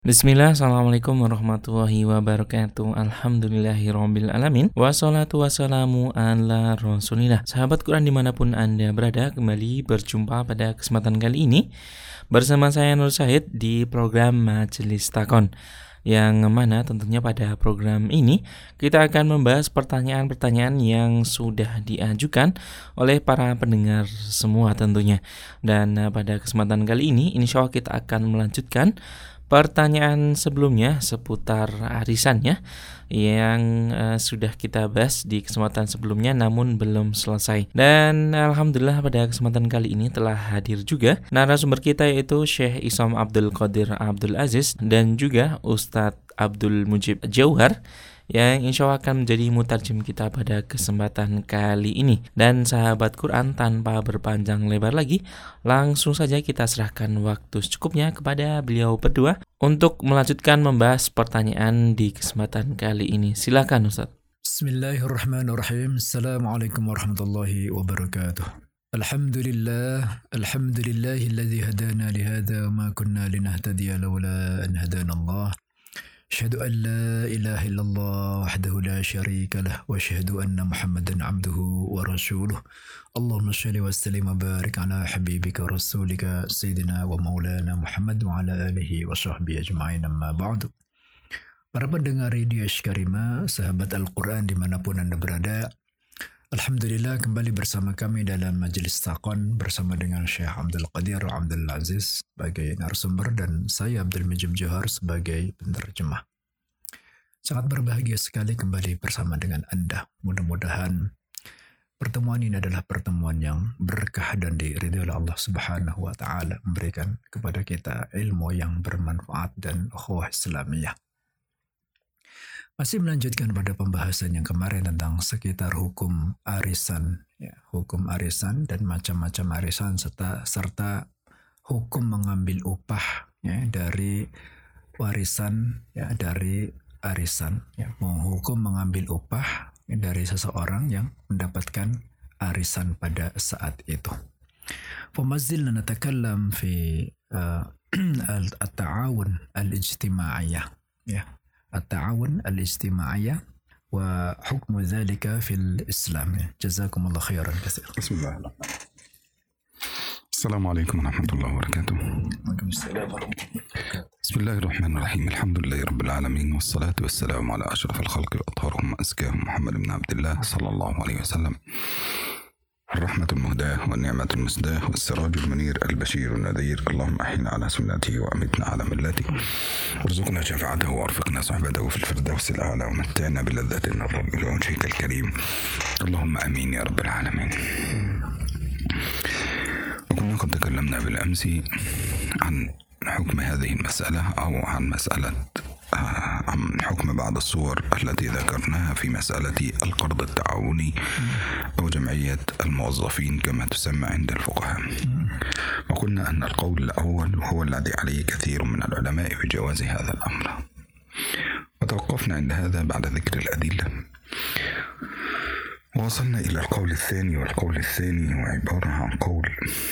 Bismillah, Assalamualaikum warahmatullahi wabarakatuh. Alhamdulillahirabbil alamin. Wassalatu wassalamu ala Rasulillah. Sahabat Quran dimanapun Anda berada, kembali berjumpa pada kesempatan kali ini bersama saya Nur Syahid di program Majelis Takon, yang mana tentunya pada program ini kita akan membahas pertanyaan-pertanyaan yang sudah diajukan oleh para pendengar semua tentunya. Dan pada kesempatan kali ini insya Allah kita akan melanjutkan pertanyaan sebelumnya seputar arisannya yang sudah kita bahas di kesempatan sebelumnya namun belum selesai. Dan alhamdulillah pada kesempatan kali ini telah hadir juga narasumber kita, yaitu Syekh Isam Abdul Qadir Abdul Aziz dan juga Ustadz Abdul Mujib Jauhar, yang insya Allah akan menjadi mutarjem kita pada kesempatan kali ini. Dan sahabat Quran, tanpa berpanjang lebar lagi, langsung saja kita serahkan waktu secukupnya kepada beliau berdua untuk melanjutkan membahas pertanyaan di kesempatan kali ini. Silakan Ustaz. Bismillahirrahmanirrahim. Assalamualaikum warahmatullahi wabarakatuh. Alhamdulillahilladzi hadana lihada wa ma kunna linahtadiya laula an hadana Allah. أشهد أن لا إله إلا الله وحده لا شريك له وأشهد أن محمدا عبده ورسوله اللهم صل وسلم وبارك على حبيبك ورسولك سيدنا ومولانا محمد وعلى آله وصحبه أجمعين أما بعد. Para pendengar Radio Askarima, sahabat Al-Quran dimanapun Anda berada, Alhamdulillah kembali bersama kami dalam Majelis Takon bersama dengan Syekh Abdul Qadir Abdul Aziz sebagai narasumber dan saya Abdul Mujib Jauhar sebagai penerjemah. Sangat berbahagia sekali kembali bersama dengan Anda. Mudah-mudahan pertemuan ini adalah pertemuan yang berkah dan diridhoi oleh Allah Subhanahu wa taala, memberikan kepada kita ilmu yang bermanfaat dan ukhuwah Islamiyah. Masih melanjutkan pada pembahasan yang kemarin tentang sekitar hukum arisan, hukum arisan dan macam-macam arisan serta hukum mengambil upah dari warisan, dari arisan, hukum mengambil upah dari seseorang yang mendapatkan arisan pada saat itu. Famazilna natakallam fi at-ta'awun al-ijtima'iyah, التعاون الاجتماعي وحكم ذلك في الإسلام. جزاكم الله خيرا كثيرا. بسم الله. السلام عليكم ورحمة الله وبركاته. وعليكم السلام ورحمة الله وبركاته. بسم الله الرحمن الرحيم. الحمد لله رب العالمين والصلاة والسلام على أشرف الخلق وأطهرهم وأزكاهم محمد بن عبد الله صلى الله عليه وسلم، الرحمة المهداة والنعمة المسداة والسراج المنير البشير النذير. اللهم أحينا على سنته وأمتنا على ملته وارزقنا شفاعته وارفقنا صحبته في الفردوس الأعلى ومتعنا بلذات النظر إلى وجهك الكريم. اللهم آمين يا رب العالمين. وكنا قد تكلمنا بالأمس عن حكم هذه المسألة أو عن حكم بعض الصور التي ذكرناها في مسألة القرض التعاوني أو جمعية الموظفين كما تسمى عند الفقهاء. وقلنا أن القول الأول هو الذي عليه كثير من العلماء بجواز هذا الأمر، وتوقفنا عند هذا بعد ذكر الأدلة، ووصلنا إلى القول الثاني. والقول الثاني هو عبارة عن قول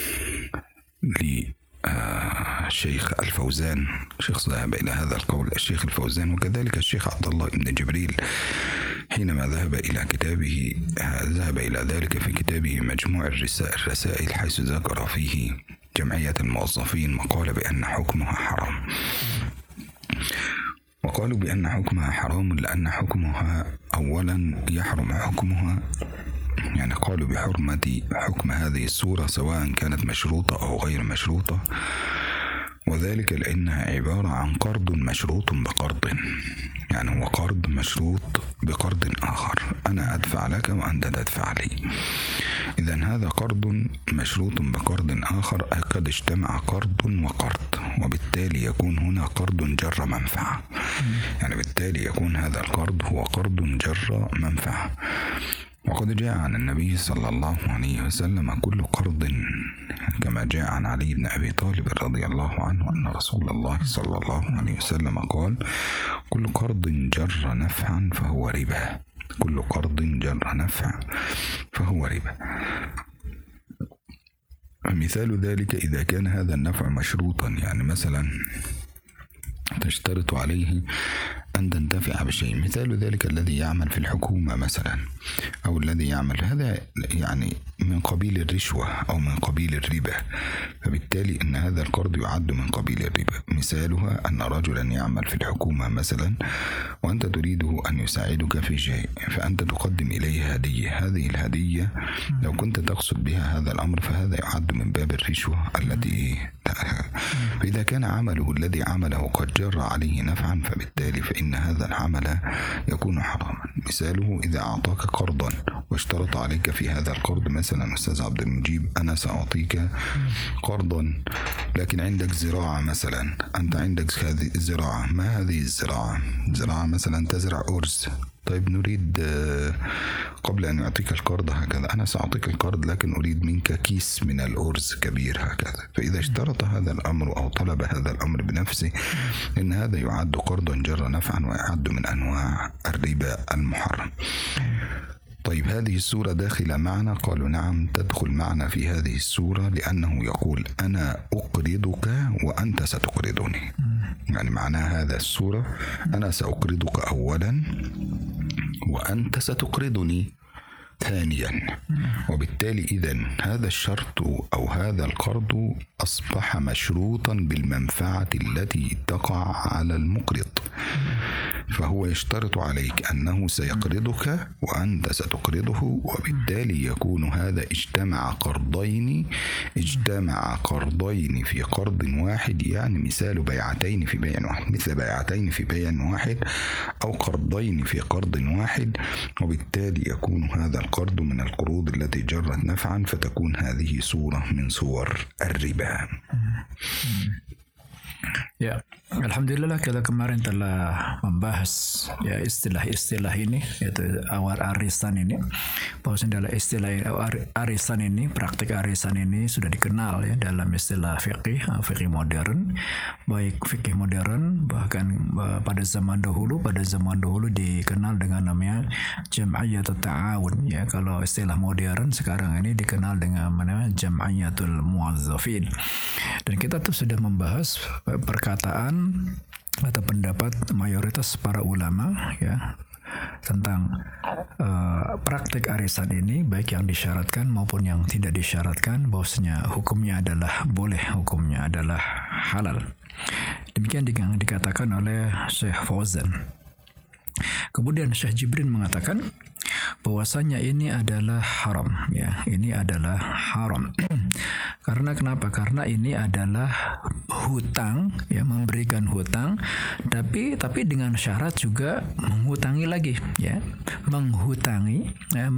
الشيخ الفوزان. الشيخ ذهب إلى هذا القول الشيخ الفوزان، وكذلك الشيخ عبد الله بن جبريل حينما ذهب إلى كتابه ذهب إلى ذلك في كتابه مجموع الرسائل، حيث ذكر فيه جمعية الموظفين وقال بأن حكمها حرام. وقالوا بأن حكمها حرام لأن حكمها أولا يحرم حكمها، يعني قالوا بحرمة حكم هذه الصورة سواء كانت مشروطة أو غير مشروطة، وذلك لأنها عبارة عن قرض مشروط بقرض، يعني هو قرض مشروط بقرض آخر، أنا أدفع لك وأنت تدفع لي. إذن هذا قرض مشروط بقرض آخر، قد اجتمع قرض وقرض، وبالتالي يكون هنا قرض جر منفعة، يعني بالتالي يكون هذا القرض هو قرض جر منفعة. وقد جاء عن النبي صلى الله عليه وسلم كل قرض، كما جاء عن علي بن أبي طالب رضي الله عنه أن رسول الله صلى الله عليه وسلم قال: كل قرض جر نفعا فهو ربا، كل قرض جر نفع فهو ربا. مثال ذلك إذا كان هذا النفع مشروطا، يعني مثلا تشترط عليه أن تنتفع بشيء. مثال ذلك الذي يعمل في الحكومة مثلا، أو الذي يعمل هذا يعني من قبيل الرشوة أو من قبيل الربا، فبالتالي أن هذا القرض يعد من قبيل الربا. مثالها أن رجلا يعمل في الحكومة مثلا وأنت تريده أن يساعدك في شيء، فأنت تقدم إليه هدية. هذه الهدية لو كنت تقصد بها هذا الأمر فهذا يعد من باب الرشوة التي فإذا كان عمله الذي عمله قد جر عليه نفعا فبالتالي فإن هذا العمل يكون حراما. مثاله إذا أعطاك قرضا واشترط عليك في هذا القرض مثلا أستاذ عبد المجيب أنا سأعطيك قرضا لكن عندك زراعة مثلا، أنت عندك هذه الزراعة، ما هذه الزراعة؟ زراعة مثلا تزرع أرز، طيب نريد قبل أن يعطيك القرض هكذا أنا سأعطيك القرض لكن أريد منك كيس من الأرز كبير هكذا. فإذا اشترط هذا الأمر أو طلب هذا الأمر بنفسه إن هذا يعد قرضا جر نفعا ويعد من أنواع الربا المحرم. طيب هذه السورة داخلة معنا؟ قالوا نعم تدخل معنا في هذه السورة، لأنه يقول أنا أقرضك وأنت ستقرضني. يعني معناها هذا السورة أنا سأقرضك أولا وأنت ستقرضني ثانيا، وبالتالي إذن هذا الشرط أو هذا القرض أصبح مشروطا بالمنفعة التي تقع على المقرض، فهو يشترط عليك أنه سيقرضك وأنت ستقرضه، وبالتالي يكون هذا اجتمع قرضين في قرض واحد، يعني مثال بيعتين في بيع واحد، مثل بيعتين في بيع واحد أو قرضين في قرض واحد، وبالتالي يكون هذا القرض من القروض التي جرت نفعا، فتكون هذه صورة من صور الربا. Ya, alhamdulillah kita kemarin telah membahas ya istilah-istilah ini, yaitu arisan ini. Bahwasanya dalam istilah arisan ini, praktik arisan ini sudah dikenal ya dalam istilah fikih modern, baik fikih modern bahkan pada zaman dahulu dikenal dengan namanya jam'iyatul ta'awun ya. Kalau istilah modern sekarang ini dikenal dengan namanya jam'iyatul muwazzafin. Dan kita tuh sudah membahas perkataan atau pendapat mayoritas para ulama ya tentang praktik arisan ini, baik yang disyaratkan maupun yang tidak disyaratkan, bahwasanya hukumnya adalah boleh, hukumnya adalah halal. Demikian yang dikatakan oleh Syekh Fauzan. Kemudian Syekh Jibrin mengatakan bahwasanya ini adalah haram ya, ini adalah haram. Karena kenapa? Karena ini adalah hutang ya, memberikan hutang, tapi dengan syarat juga menghutangi lagi ya, menghutangi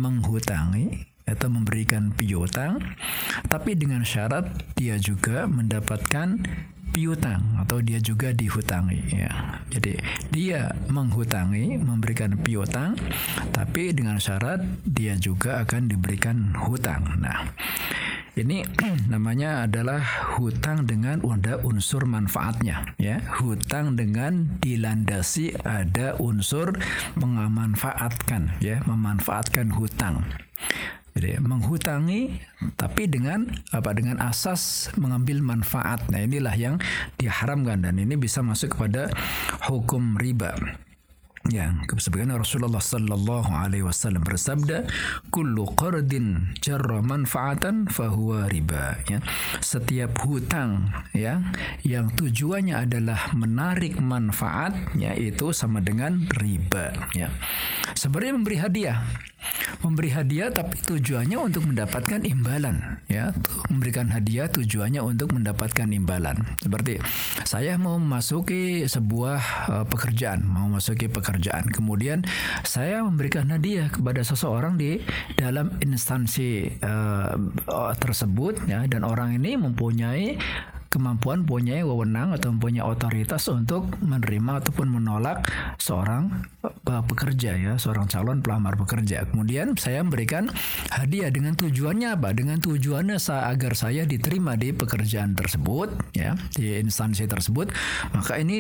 atau memberikan piutang, tapi dengan syarat dia juga mendapatkan piutang atau dia juga dihutangi ya. Jadi dia menghutangi, memberikan piutang, tapi dengan syarat dia juga akan diberikan hutang. Nah, ini namanya adalah hutang dengan ada unsur manfaatnya ya. Hutang dengan dilandasi ada unsur memanfaatkan ya, memanfaatkan hutang. Jadi menghutangi tapi dengan asas mengambil manfaat. Nah, inilah yang diharamkan dan ini bisa masuk kepada hukum riba. Ya, sebagaimana Rasulullah sallallahu alaihi wasallam bersabda, "Kullu qardin jarra manfaatan fahuwa riba." Ya, setiap hutang ya yang tujuannya adalah menarik manfaat, ya itu sama dengan riba ya. Sebenarnya memberi hadiah tapi tujuannya untuk mendapatkan imbalan ya. Memberikan hadiah tujuannya untuk mendapatkan imbalan. Seperti saya mau memasuki sebuah pekerjaan, kemudian saya memberikan hadiah kepada seseorang di dalam instansi tersebut ya, dan orang ini mempunyai kemampuan, punya wewenang atau mempunyai otoritas untuk menerima ataupun menolak seorang pekerja ya, seorang calon pelamar pekerja. Kemudian saya memberikan hadiah dengan tujuannya apa? Dengan tujuannya agar saya diterima di pekerjaan tersebut ya, di instansi tersebut. Maka ini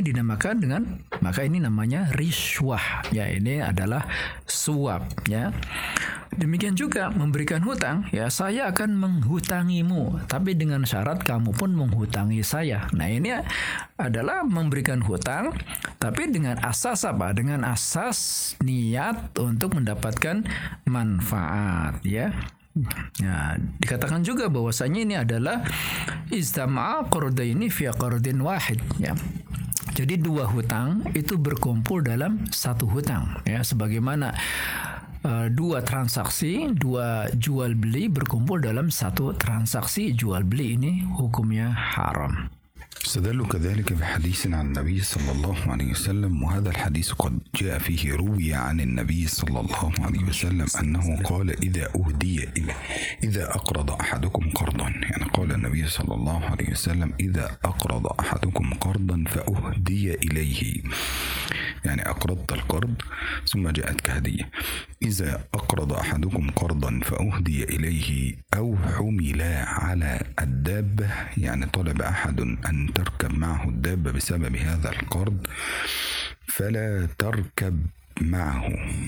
namanya riswah ya, ini adalah suap ya. Demikian juga memberikan hutang, ya saya akan menghutangimu, tapi dengan syarat kamu pun menghutangi saya. Nah ini adalah memberikan hutang, tapi dengan asas apa? Dengan asas niat untuk mendapatkan manfaat, ya. Nah, dikatakan juga bahwasanya ini adalah istama'a qardaini fi qardin wahid, ya. Jadi dua hutang itu berkumpul dalam satu hutang, ya, sebagaimana dua transaksi, dua jual beli berkumpul dalam satu transaksi jual beli, ini hukumnya haram. استدلوا كذلك بحديث عن النبي صلى الله عليه وسلم، وهذا الحديث قد جاء فيه روي عن النبي صلى الله عليه وسلم أنه قال إذا أقرض أحدكم قرضا، يعني قال النبي صلى الله عليه وسلم إذا أقرض أحدكم قرضا فأهدي إليه، يعني أقرضت القرض ثم جاءتك هدية. إذا أقرض أحدكم قرضا فأهدي إليه أو حمل على الدابة، يعني طلب أحد أن تركب معه الدابة بسبب هذا القرض فلا تركب معه،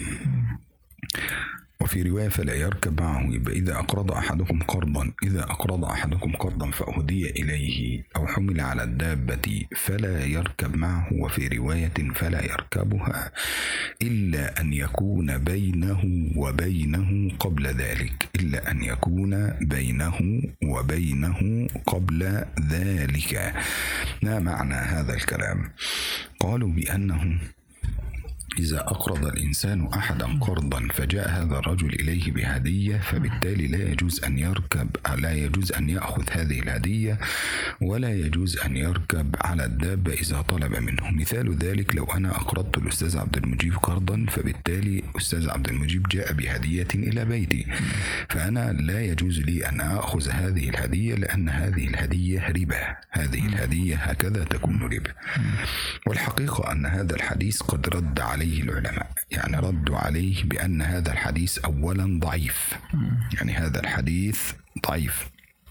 وفي رواية فلا يركب معه. يبقى إذا أقرض أحدكم قرضا فأهدي إليه أو حمل على الدابة فلا يركب معه، وفي رواية فلا يركبها إلا أن يكون بينه وبينه قبل ذلك، إلا أن يكون بينه وبينه قبل ذلك. ما معنى هذا الكلام؟ قالوا بأنه إذا أقرض الإنسان أحدا قرضا فجاء هذا الرجل إليه بهدية، فبالتالي لا يجوز أن يأخذ هذه الهدية، ولا يجوز أن يركب على الدابة إذا طلب منه. مثال ذلك لو أنا أقرضت الأستاذ عبد المجيب قرضا، فبالتالي أستاذ عبد المجيب جاء بهدية إلى بيتي، فأنا لا يجوز لي أن أخذ هذه الهدية، لأن هذه الهدية ربا، هذه الهدية هكذا تكون ربا. والحقيقة أن هذا الحديث قد رد عليه العلماء، يعني ردوا عليه بأن هذا الحديث أولا ضعيف، يعني هذا الحديث ضعيف.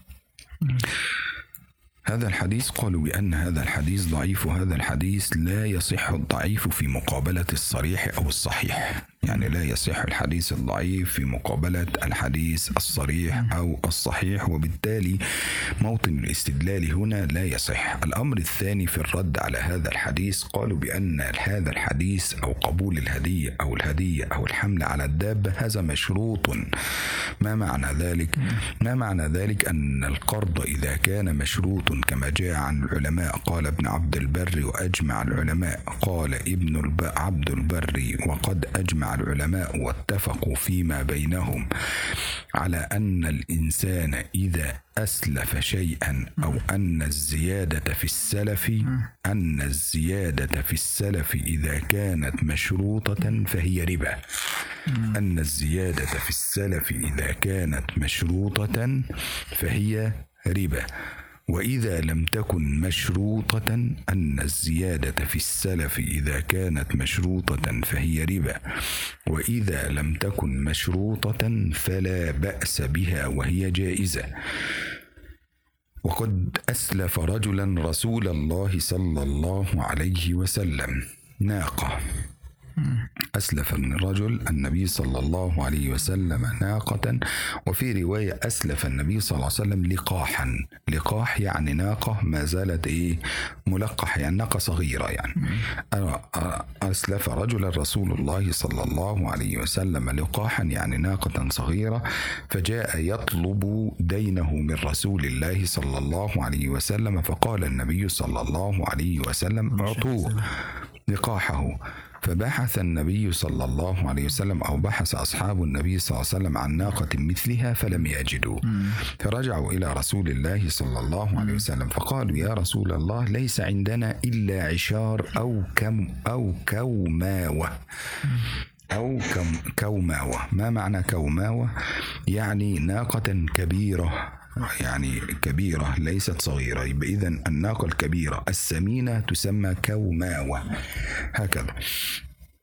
هذا الحديث قالوا بأن هذا الحديث ضعيف، وهذا الحديث لا يصح الضعيف في مقابلة الصريح أو الصحيح، يعني لا يصح الحديث الضعيف في مقابلة الحديث الصريح أو الصحيح، وبالتالي موطن الاستدلال هنا لا يصح. الأمر الثاني في الرد على هذا الحديث، قالوا بأن هذا الحديث أو قبول الهدية أو الحمل على الدابة هذا مشروط. ما معنى ذلك؟ ما معنى ذلك أن القرض إذا كان مشروط كما جاء عن العلماء، قال ابن عبد البر وأجمع العلماء، قال ابن عبد البر وقد أجمع العلماء واتفقوا فيما بينهم على أن الإنسان إذا أسلف شيئا أو أن الزيادة في السلف إذا كانت مشروطة فهي ربا، أن الزيادة في السلف إذا كانت مشروطة فهي ربا. وإذا لم تكن مشروطة، أن الزيادة في السلف إذا كانت مشروطة فهي ربا، وإذا لم تكن مشروطة فلا بأس بها وهي جائزة. وقد أسلف رجلا رسول الله صلى الله عليه وسلم ناقة، أسلف الرجل النبي صلى الله عليه وسلم ناقة، وفي رواية أسلف النبي صلى الله عليه وسلم لقاحا. لقاح يعني ناقة ما زالت ملقح، يعني ناقة صغيرة. يعني أسلف رجل رسول الله صلى الله عليه وسلم لقاحا يعني ناقة صغيرة، فجاء يطلب دينه من رسول الله صلى الله عليه وسلم، فقال النبي صلى الله عليه وسلم اعطوه لقاحه. فبحث النبي صلى الله عليه وسلم أو بحث أصحاب النبي صلى الله عليه وسلم عن ناقة مثلها فلم يجدوا، فرجعوا إلى رسول الله صلى الله عليه وسلم فقالوا يا رسول الله ليس عندنا إلا عشار أو كوماوة كوماوة. ما معنى كوماوة؟ يعني ناقة كبيرة، يعني كبيرة ليست صغيرة، يبقى إذن الناقة الكبيرة السمينة تسمى كوماوة هكذا.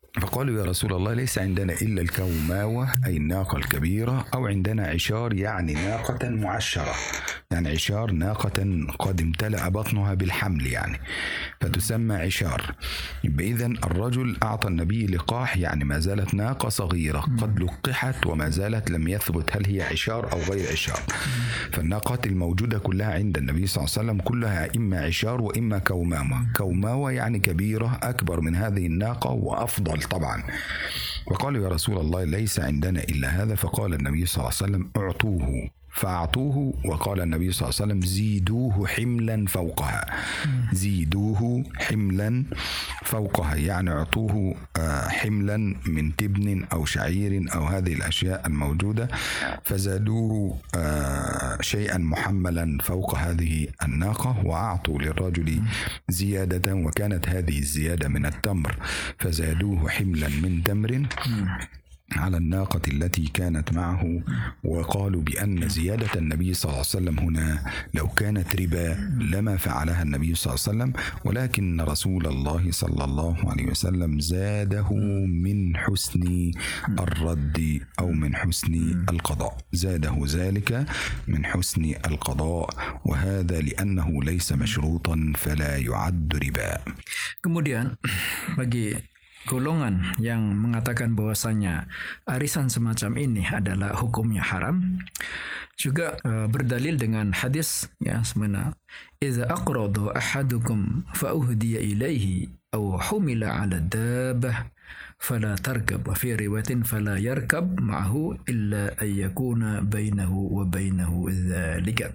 فقالوا يا رسول الله ليس عندنا إلا الكوماوة أي الناقة الكبيرة، أو عندنا عشار يعني ناقة معشرة، يعني عشار ناقة قد امتلأ بطنها بالحمل يعني فتسمى عشار. إذن الرجل أعطى النبي لقاح، يعني ما زالت ناقة صغيرة قد لقحت وما زالت لم يثبت هل هي عشار أو غير عشار. فالناقات الموجودة كلها عند النبي صلى الله عليه وسلم كلها إما عشار وإما كوماوة. كوماوة يعني كبيرة أكبر من هذه الناقة وأفضل طبعا. وقالوا يا رسول الله ليس عندنا إلا هذا، فقال النبي صلى الله عليه وسلم اعطوه، فأعطوه. وقال النبي صلى الله عليه وسلم زيدوه حملا فوقها، زيدوه حملا فوقها، يعني اعطوه حملا من تبن أو شعير أو هذه الأشياء الموجودة، فزادوه شيئا محملا فوق هذه الناقة، وأعطوا للرجل زيادة، وكانت هذه الزيادة من التمر، فزادوه حملا من تمر على الناقة التي كانت معه. وقالوا بأن زيادة النبي صلى الله عليه وسلم هنا لو كانت ربا لما فعلها النبي صلى الله عليه وسلم، ولكن رسول الله صلى الله عليه وسلم زاده من حسن الرد أو من حسن القضاء، زاده ذلك من حسن القضاء، وهذا لأنه ليس مشروطا فلا يعد ربا. Kemudian bagi golongan yang mengatakan bahwasanya arisan semacam ini adalah hukumnya haram, juga berdalil dengan hadis ya semana idza aqrada ahadukum fa uhdiya ilaihi aw humila 'ala dabbah fala tarkab, wa fi riwayatin fala yarkab ma'ahu illa an yakuna bainahu wa bainahu dzalika.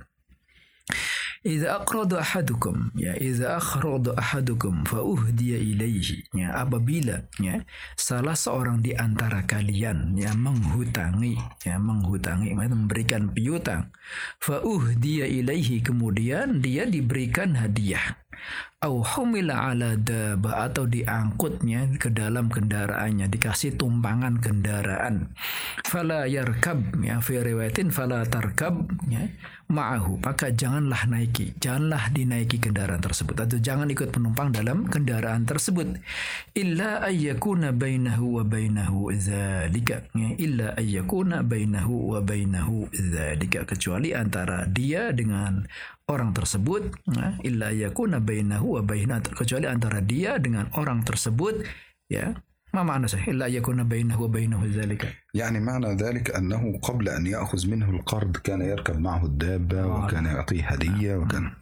Idza aqrada ahadukum, ya idza akhrada ahadukum fa uhdiya ilaihi, ya apabila ya salah seorang di antara kalian yang menghutangi, memberikan piutang, fa uhdiya ilaihi, kemudian dia diberikan hadiah, au humila ala dabah, atau diangkutnya ke dalam kendaraannya, dikasih tumpangan kendaraan, fala yarkab, ya fi riwayatin fala tarkab, ya ma'ahu, maka janganlah dinaiki kendaraan tersebut, atau jangan ikut penumpang dalam kendaraan tersebut, illa ayyakuna bainahu wa bainahu dzalika, illa ayyakuna bainahu wa bainahu dzalika, kecuali antara dia dengan orang tersebut, illa yakuna bainahu wa bainahu, kecuali antara dia dengan orang tersebut, ya. ما معنى صحيح إلا يكون بينه وبينه ذلك؟ يعني معنى ذلك أنه قبل أن يأخذ منه القرض كان يركب معه الدابة وكان يعطيه هدية وكان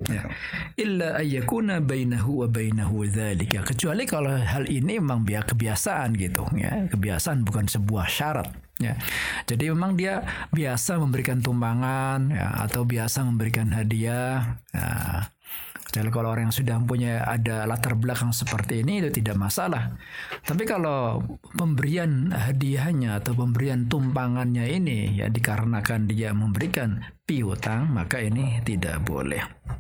إلا أن يكون بينه وبينه ذلك, kecuali kalau hal ini memang kebiasaan gitu ya, kebiasaan bukan sebuah syarat ya. Jadi memang dia biasa memberikan tumpangan ya, atau biasa memberikan hadiah ya. Jadi kalau orang yang sudah punya ada latar belakang seperti ini itu tidak masalah. Tapi kalau pemberian hadiahnya atau pemberian tumpangannya ini ya dikarenakan dia memberikan piutang, maka ini tidak boleh.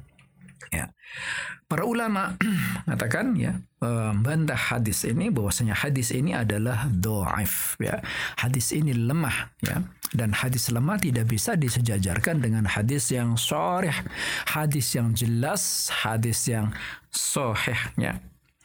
Ya. Para ulama mengatakan ya membantah hadis ini, bahwasanya hadis ini adalah dhaif ya. Hadis ini lemah ya. Dan hadis lemah tidak bisa disejajarkan dengan hadis yang sharih, hadis yang jelas, hadis yang sahih ya.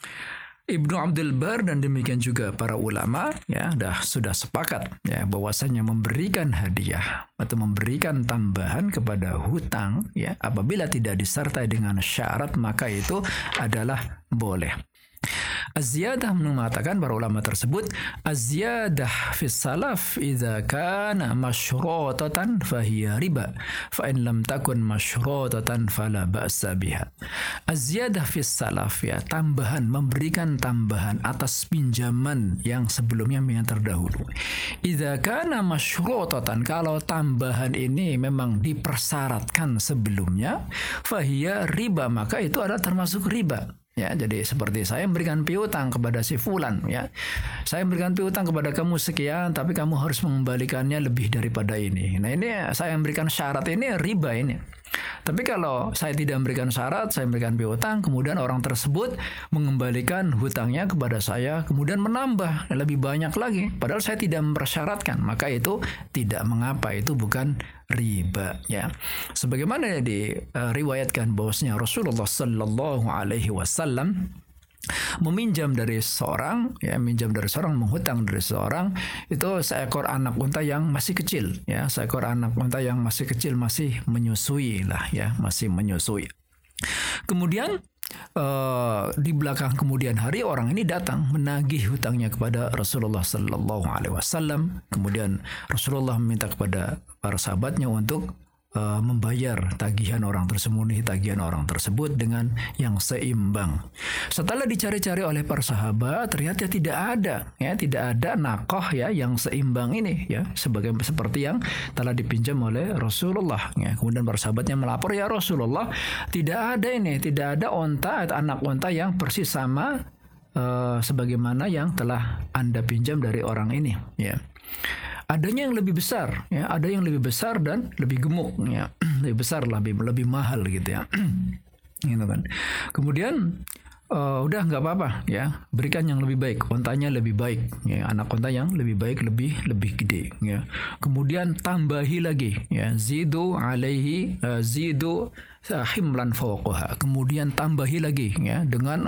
Ibnu Abdul Bar dan demikian juga para ulama ya sudah sepakat ya bahwasanya memberikan hadiah atau memberikan tambahan kepada hutang ya apabila tidak disertai dengan syarat maka itu adalah boleh. Az-ziyadah mengatakan para ulama tersebut, az-ziyadah fi salaf idza kana masyrutatan fahiya riba, fa in lam takun masyrutatan fala ba'sa biha. Az-ziyadah fi salaf ya, tambahan, memberikan tambahan atas pinjaman yang sebelumnya yang terdahulu. Idza kana masyrutatan, kalau tambahan ini memang dipersyaratkan sebelumnya, fahiya riba, maka itu adalah termasuk riba. Ya, jadi seperti saya memberikan piutang kepada si fulan ya. Saya memberikan piutang kepada kamu sekian, tapi kamu harus mengembalikannya lebih daripada ini. Nah, ini saya memberikan syarat, ini riba ini. Tapi kalau saya tidak memberikan syarat, saya memberikan piutang, kemudian orang tersebut mengembalikan hutangnya kepada saya, kemudian menambah lebih banyak lagi, padahal saya tidak mempersyaratkan, maka itu tidak mengapa, itu bukan riba ya. Sebagaimana diriwayatkan bahwasanya Rasulullah sallallahu alaihi wasallam meminjam dari seseorang, menghutang dari seseorang, itu seekor anak unta yang masih kecil, ya, seekor anak unta yang masih kecil, masih menyusui lah, ya, masih menyusui. Kemudian di belakang kemudian hari orang ini datang menagih hutangnya kepada Rasulullah Sallallahu Alaihi Wasallam. Kemudian Rasulullah meminta kepada para sahabatnya untuk membayar tagihan orang tersebut dengan yang seimbang. Setelah dicari-cari oleh para sahabat, ternyata tidak ada nakoh, ya, yang seimbang ini, ya, seperti yang telah dipinjam oleh Rasulullah, ya. Kemudian para sahabatnya melapor, ya Rasulullah, tidak ada onta atau anak onta yang persis sama sebagaimana yang telah Anda pinjam dari orang ini, ya. Adanya yang lebih besar, ya, ada yang lebih besar dan lebih gemuk, ya, lebih besar, lebih mahal gitu, ya, gitu kan. Kemudian udah nggak apa-apa, ya, berikan yang lebih baik, ontanya lebih baik, ya, anak onta yang lebih baik, lebih gede, ya. Kemudian tambahi lagi, ya, zidu himlan fawqaha. Kemudian tambahi lagi, ya, dengan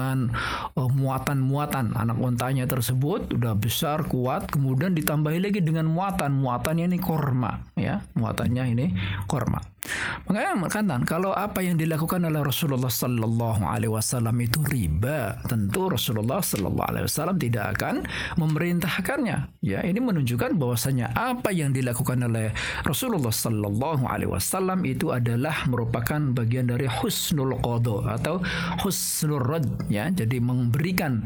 muatan anak ontanya tersebut udah besar, kuat, kemudian ditambahi lagi dengan muatannya ini korma, ya, muatannya ini korma. Makanya katakan kalau apa yang dilakukan oleh Rasulullah Sallallahu Alaihi Wasallam itu riba, tentu Rasulullah Sallallahu Alaihi Wasallam tidak akan memerintahkannya, ya. Ini menunjukkan bahwasanya apa yang dilakukan oleh Rasulullah Sallallahu Alaihi Wasallam itu adalah merupakan bagian dari husnul qada atau husnul rad, ya. Jadi memberikan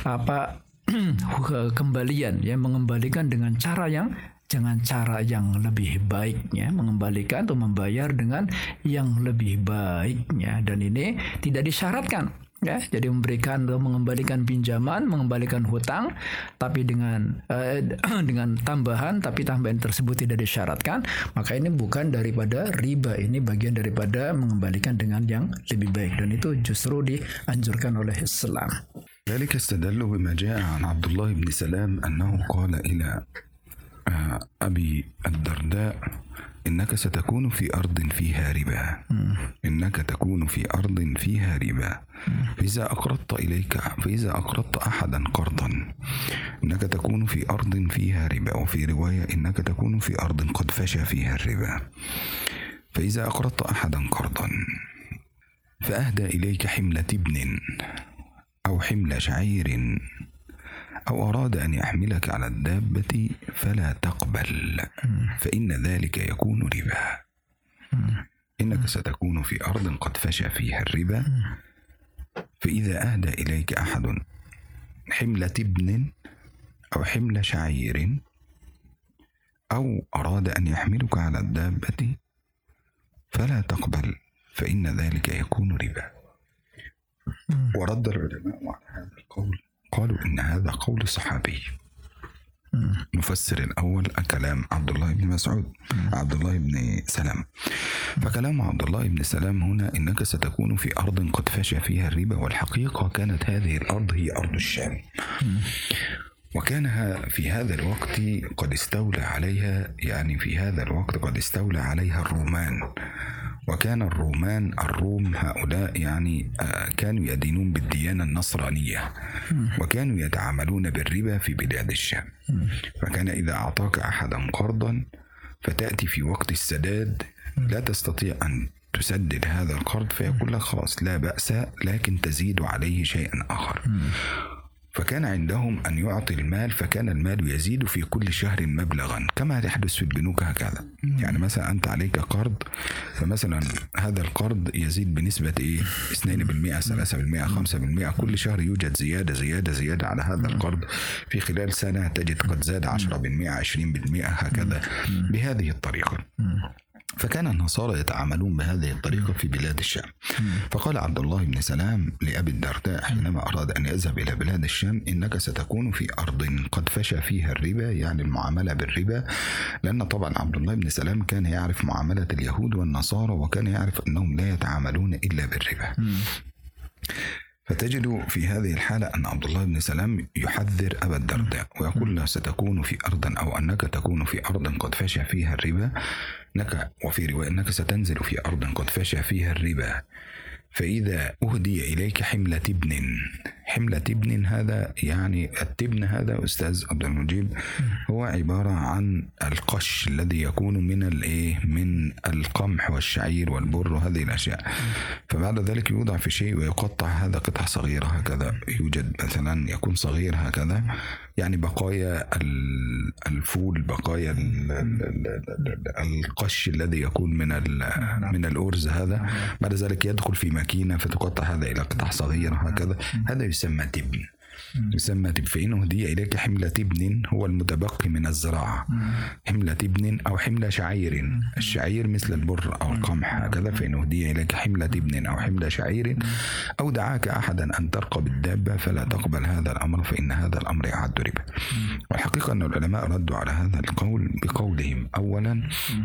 kembalian, ya, mengembalikan dengan cara yang lebih baik, ya, mengembalikan atau membayar dengan yang lebih baik, ya. Dan ini tidak disyaratkan, ya. Jadi mengembalikan pinjaman, mengembalikan hutang, tapi dengan tambahan, tapi tambahan tersebut tidak disyaratkan, maka ini bukan daripada riba, ini bagian daripada mengembalikan dengan yang lebih baik, dan itu justru dianjurkan oleh Islam. ذلك استدلوا بما جاء عن عبد الله بن سلام أنه قال إلى أبي الدرداء إنك ستكون في أرض فيها ربا، إنك تكون في أرض فيها ربا، فإذا أقرضت أحدا قرضا إنك تكون في أرض فيها ربا، وفي رواية إنك تكون في أرض قد فشى فيها الربا، فإذا أقرضت أحدا قرضا فأهدى إليك حملة ابن أو حمل شعير أو أراد أن يحملك على الدابة فلا تقبل، فإن ذلك يكون ربا، إنك ستكون في أرض قد فشى فيها الربا، فإذا أهدى إليك أحد حملة ابن أو حمل شعير أو أراد أن يحملك على الدابة فلا تقبل، فإن ذلك يكون ربا. ورد العلماء على هذا القول، قالوا إن هذا قول صحابي. مفسر الأول كلام عبد الله بن مسعود، عبد الله بن سلام. فكلام عبد الله بن سلام هنا إنك ستكون في أرض قد فشى فيها الربا، والحقيقة كانت هذه الأرض هي أرض الشام، وكان في هذا الوقت قد استولى عليها، يعني في هذا الوقت قد استولى عليها الرومان، وكان الروم هؤلاء يعني كانوا يدينون بالديانة النصرانية، وكانوا يتعاملون بالربا في بلاد الشام. فكان إذا أعطاك أحدا قرضا فتأتي في وقت السداد لا تستطيع أن تسدد هذا القرض، فيقول لك خلاص لا بأس، لكن تزيد عليه شيئا آخر. فكان عندهم أن يعطي المال، فكان المال يزيد في كل شهر مبلغا كما يحدث في البنوك هكذا. يعني مثلا أنت عليك قرض، فمثلا هذا القرض يزيد بنسبة 2%، 3%، 5%، كل شهر يوجد زيادة على هذا القرض. في خلال سنة تجد قد زاد 10%، 20%، هكذا بهذه الطريقة. فكان النصارى يتعاملون بهذه الطريقة في بلاد الشام. فقال عبد الله بن سلام لأبي الدرداء حينما أراد أن يذهب إلى بلاد الشام إنك ستكون في أرض قد فشى فيها الربا، يعني المعاملة بالربا، لأن طبعا عبد الله بن سلام كان يعرف معاملة اليهود والنصارى، وكان يعرف أنهم لا يتعاملون إلا بالربا. فتجد في هذه الحالة أن عبد الله بن سلام يحذر أبا الدرداء ويقول له ستكون في أرض، أو أنك تكون في أرض قد فشى فيها الربا، وفي رواية أنك ستنزل في أرض قد فشى فيها الربا، فإذا أهدي إليك حملة ابن هذا يعني التبن هذا أستاذ عبد المجيب هو عبارة عن القش الذي يكون من القمح والشعير والبر وهذه الأشياء. فبعد ذلك يوضع في شيء ويقطع هذا قطع صغيرة هكذا، يوجد مثلا يكون صغير هكذا يعني بقايا الفول، بقايا القش الذي يكون من الأرز هذا، بعد ذلك يدخل في ماكينة فتقطع هذا إلى قطع صغيرة هكذا، هذا يسمى تبن. فإن أهدي إليك حملة ابن هو المتبقي من الزراعة، حملة ابن أو حملة شعير، الشعير مثل البر أو القمح هكذا. فإن أهدي إليك حملة ابن أو حملة شعير أو دعاك أحدا أن ترقب الدابة فلا تقبل هذا الأمر فإن هذا الأمر يعد ربا. والحقيقة أن العلماء ردوا على هذا القول بقولهم: أولا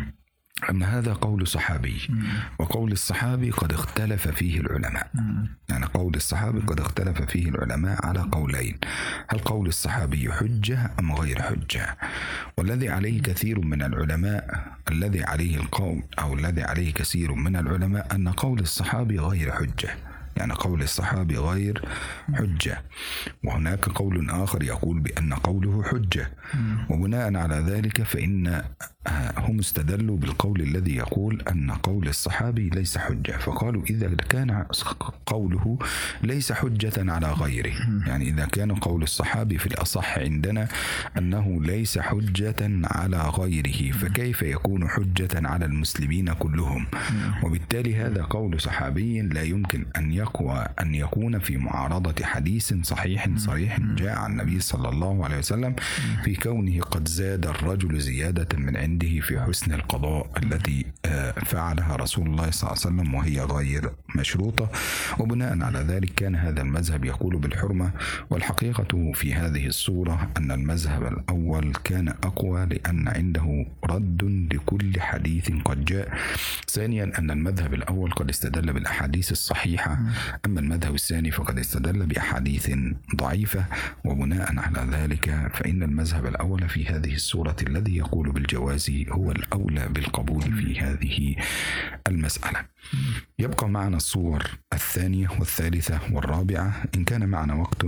أن هذا قول صحابي، وقول الصحابي قد اختلف فيه العلماء، يعني قول الصحابي قد اختلف فيه العلماء على قولين: هل قول الصحابي حجة أم غير حجة؟ والذي عليه كثير من العلماء، الذي عليه القول أو الذي عليه كثير من العلماء أن قول الصحابي غير حجة، يعني قول الصحابي غير حجة. وهناك قول آخر يقول بأن قوله حجة، وبناء على ذلك فإن هم استدلوا بالقول الذي يقول أن قول الصحابي ليس حجة، فقالوا إذا كان قوله ليس حجة على غيره، يعني إذا كان قول الصحابي في الأصح عندنا أنه ليس حجة على غيره، فكيف يكون حجة على المسلمين كلهم؟ وبالتالي هذا قول صحابي لا يمكن أن يكون في معارضة حديث صحيح صريح جاء عن النبي صلى الله عليه وسلم في كونه قد زاد الرجل زيادة من عنده في حسن القضاء التي فعلها رسول الله صلى الله عليه وسلم وهي غير مشروطة. وبناء على ذلك كان هذا المذهب يقول بالحرمة. والحقيقة في هذه الصورة أن المذهب الأول كان أقوى لأن عنده رد لكل حديث قد جاء. ثانيا أن المذهب الأول قد استدل بالأحاديث الصحيحة، أما المذهب الثاني فقد استدل بأحاديث ضعيفة. وبناء على ذلك فإن المذهب الأول في هذه الصورة الذي يقول بالجواز هو الأولى بالقبول في هذه المسألة. يبقى معنا الصور الثانية والثالثة والرابعة إن كان معنا وقت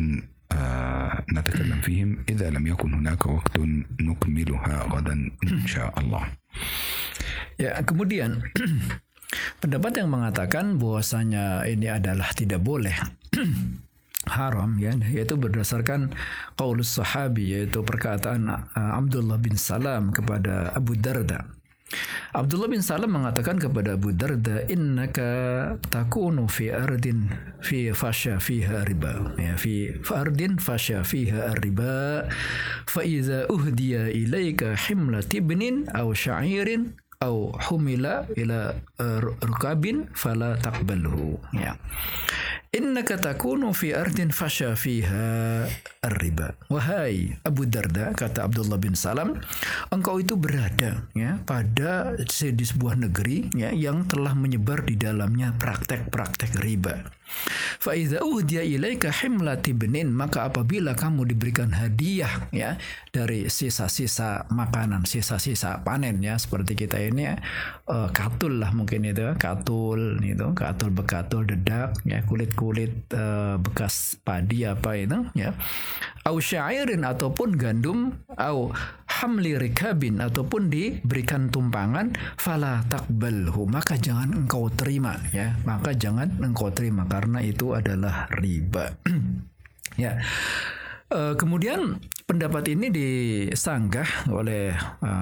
نتكلم فيهم، إذا لم يكن هناك وقت نكملها غدا إن شاء الله. Ya, kemudian pendapat yang mengatakan bahwasanya ini adalah tidak boleh haram, ya, yaitu berdasarkan qaulus sahabi, yaitu perkataan Abdullah bin Salam kepada Abu Darda. Abdullah bin Salam mengatakan kepada Abu Darda, innaka takunu fi ardin fi fasha fiha riba, ya, fi ardin fasha fiha riba, fa iza uhdiya ilaika himlat ibnin aw sha'irin aw humila ila rukabin fala taqbalhu, ya. Innaka takunu fi ardin fasha fiha ar-riba. Wahai Abu Darda, kata Abdullah bin Salam, engkau itu berada, ya, pada di sebuah negeri, ya, yang telah menyebar di dalamnya praktek-praktek riba. Fa idza uhdiya ilaika himlat ibnin, maka apabila kamu diberikan hadiah, ya, dari sisa-sisa makanan, sisa-sisa panen, ya, seperti kita ini katul lah mungkin itu, katul bekatul, dedak, ya, kulit bekas padi apa itu, ya, au syairin ataupun gandum, au hamli rikabin ataupun diberikan tumpangan, fala taqbalhu, maka jangan engkau terima, ya, maka jangan engkau terima karena itu adalah riba. Ya. Kemudian pendapat ini disanggah oleh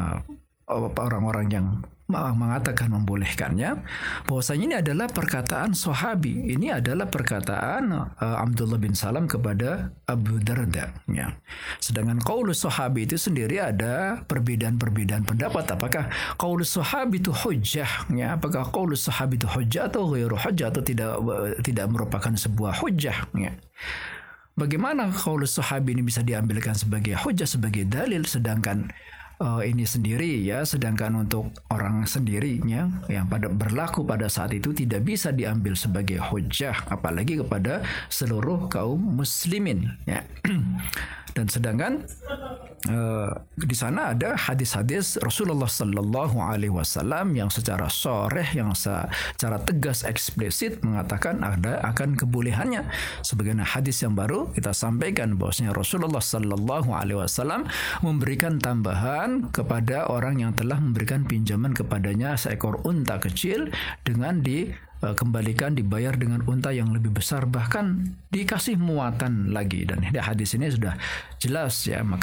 orang-orang yang mengatakan membolehkannya, bahwasanya ini adalah perkataan sahabi, ini adalah perkataan Abdullah bin Salam kepada Abu Darda, ya. Sedangkan qaulus sahabi itu sendiri ada perbedaan pendapat, apakah qaulus sahabi itu hujjah, ya, apakah qaulus sahabi itu hujjah atau ghairu hujjah, atau tidak merupakan sebuah hujjah, ya. Bagaimana qaulus sahabi ini bisa diambilkan sebagai hujjah, sebagai dalil, sedangkan ini sendiri, ya, sedangkan untuk orang sendirinya yang berlaku pada saat itu tidak bisa diambil sebagai hujjah, apalagi kepada seluruh kaum muslimin, ya. Dan sedangkan di sana ada hadis-hadis Rasulullah Sallallahu Alaihi Wasallam yang secara sharih, yang secara tegas eksplisit mengatakan ada akan kebolehannya. Sebagaimana hadis yang baru kita sampaikan bahwasanya Rasulullah Sallallahu Alaihi Wasallam memberikan tambahan kepada orang yang telah memberikan pinjaman kepadanya seekor unta kecil dengan kembalikan dibayar dengan unta yang lebih besar, bahkan dikasih muatan lagi. Dan hadis ini sudah jelas ya, maka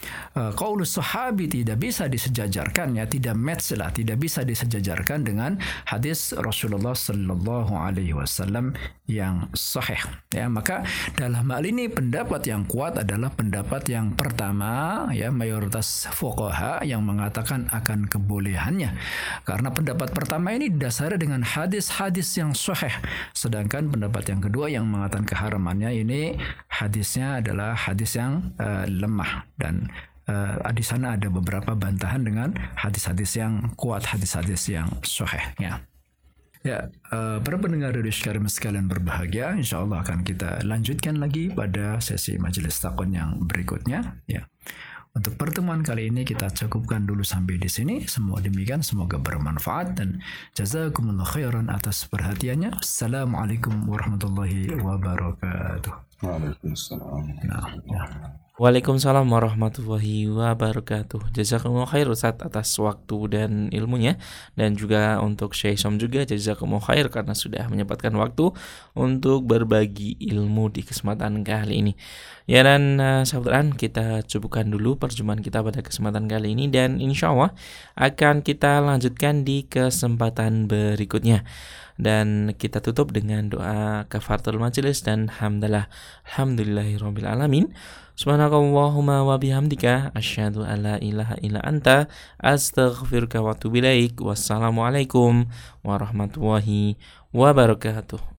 qaulus sahabi tidak bisa disejajarkan ya, tidak match lah, tidak bisa disejajarkan dengan hadis Rasulullah Sallallahu Alaihi Wasallam yang sahih ya. Maka dalam hal ini pendapat yang kuat adalah pendapat yang pertama ya, mayoritas fuqaha yang mengatakan akan kebolehannya, karena pendapat pertama ini didasari dengan hadis-hadis yang sahih. Sedangkan pendapat yang kedua yang mengatakan keharamannya ini hadisnya adalah hadis yang lemah, dan di sana ada beberapa bantahan dengan hadis-hadis yang kuat, hadis-hadis yang sahih ya. Ya, para pendengar Radio Karim sekalian berbahagia, insya Allah akan kita lanjutkan lagi pada sesi majelis takon yang berikutnya ya. Untuk pertemuan kali ini kita cukupkan dulu sampai di sini. Semua demikian, semoga bermanfaat dan jazakumullah khairan atas perhatiannya. Assalamualaikum warahmatullahi wabarakatuh. Waalaikumsalam. Waalaikumsalam warahmatullahi wabarakatuh. Jazakumullah khair Ustaz atas waktu dan ilmunya, dan juga untuk Syekh Som juga jazakumullah khair karena sudah menyempatkan waktu untuk berbagi ilmu di kesempatan kali ini. Ya, dan sahabat, kita cukupkan dulu perjumpaan kita pada kesempatan kali ini, dan insya Allah akan kita lanjutkan di kesempatan berikutnya. Dan kita tutup dengan doa kafaratul majelis dan alhamdulillahirabbil alamin. Subhanakallahumma wa bihamdika asyhadu an la ilaha illa anta astaghfiruka wa atubu ilaik. Wassalamualaikum warahmatullahi wabarakatuh.